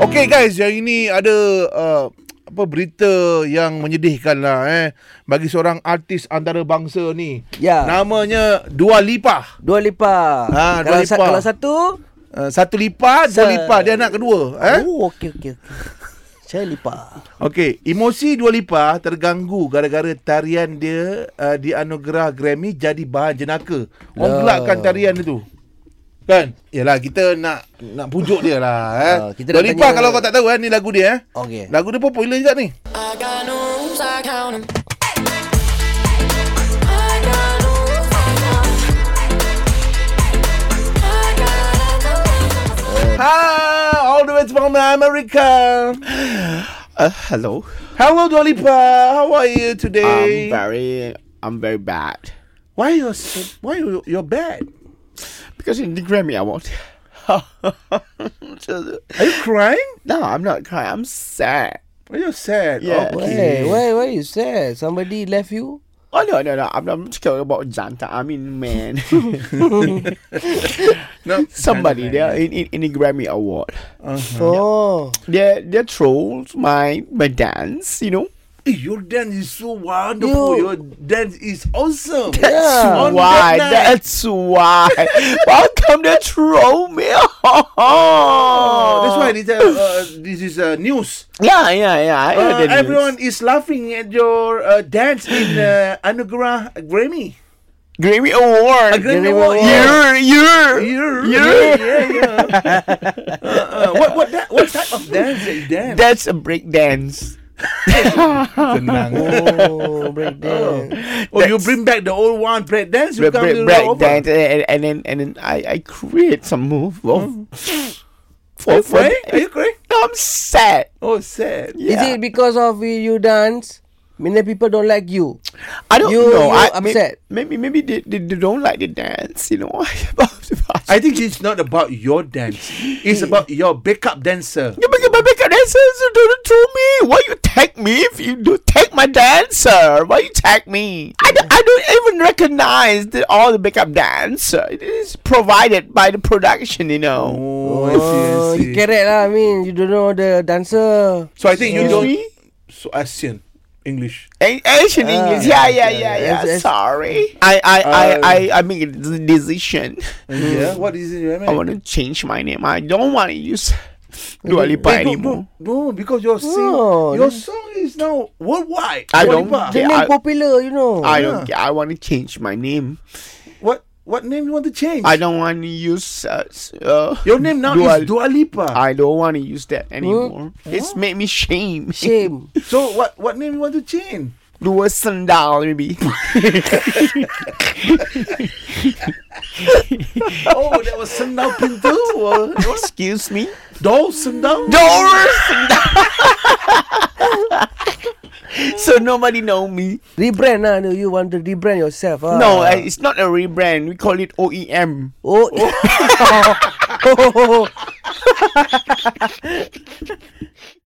Okay guys, yang ini ada berita yang menyedihkan lah bagi seorang artis antarabangsa ni. Ya. Namanya Dua Lipa. Dua Lipa. Dua Lipa. Kalau satu satu Lipa, Dua Lipa, dia anak kedua. Oh, okey. Saya Lipa. Okey, emosi Dua Lipa terganggu gara-gara tarian dia dianugerah Grammy jadi bahan jenaka. Orang gelakkan tarian itu. Kan? Yalah, kita nak pujuk dia lah. Kita Dua Lipa kalau kau tak tahu ni lagu dia. Okey. Lagu dia popular juga ni. Hi, all the way from America. Hello. Hello, Dua Lipa. How are you today? I'm very bad. Why you're bad? Because in the Grammy Award. Are you crying? No, I'm not crying. I'm sad. Are you sad? Yeah. Okay. Why you sad? Somebody left you? Oh no. I'm scared about Janta. I mean, man. No, Somebody there in the Grammy Award. Oh. They trolls my dance. You know. Your dance is so wonderful. Your dance is awesome. Yeah. That's why. Welcome to troll me. That's why this is news. Yeah. I heard the news. Everyone is laughing at your dance in Anugerah Grammy. Grammy Award. Grammy Award. Yeah. What type of dance that you dance? That's a break dance. Senang. Oh, break dance. You bring back the old one, break dance. You come to Break dance, and then I create some move. Are you crying? Are you crying? I'm sad. Oh, sad. Is it because of you dance? Many people don't like you. I don't You know. upset. Maybe they don't like the dance. You know. I think it's not about your dance. It's about your backup dancer. You make my backup dancers. You don't tell me. Why you tag me if you do tag my dancer? Why you tag me? I don't even recognize all the backup dancer. It is provided by the production. You know. Oh, I see. You correct lah. I mean, you don't know the dancer. So I think you don't. Me? So Asian English. Asian English. Yeah. Yes. Sorry. I make a decision. Yeah. What is it? I want to change my name. I don't want to use Dua Lipa anymore. No, because your song is now worldwide. I Dua don't Lipa. The name popular, you know. I don't care. I want to change my name. What name you want to change? I don't want to use Your name now is Dua Lipa. I don't want to use that anymore. It's made me shame. Shame. So what name you want to change? Dua Sandal maybe. Oh, that was Sendal Pintu. Excuse me. Dol Sendal. Dua Sandal. So nobody know me. Rebrand lah. You want to rebrand yourself. No, it's not a rebrand. We call it OEM. Oh.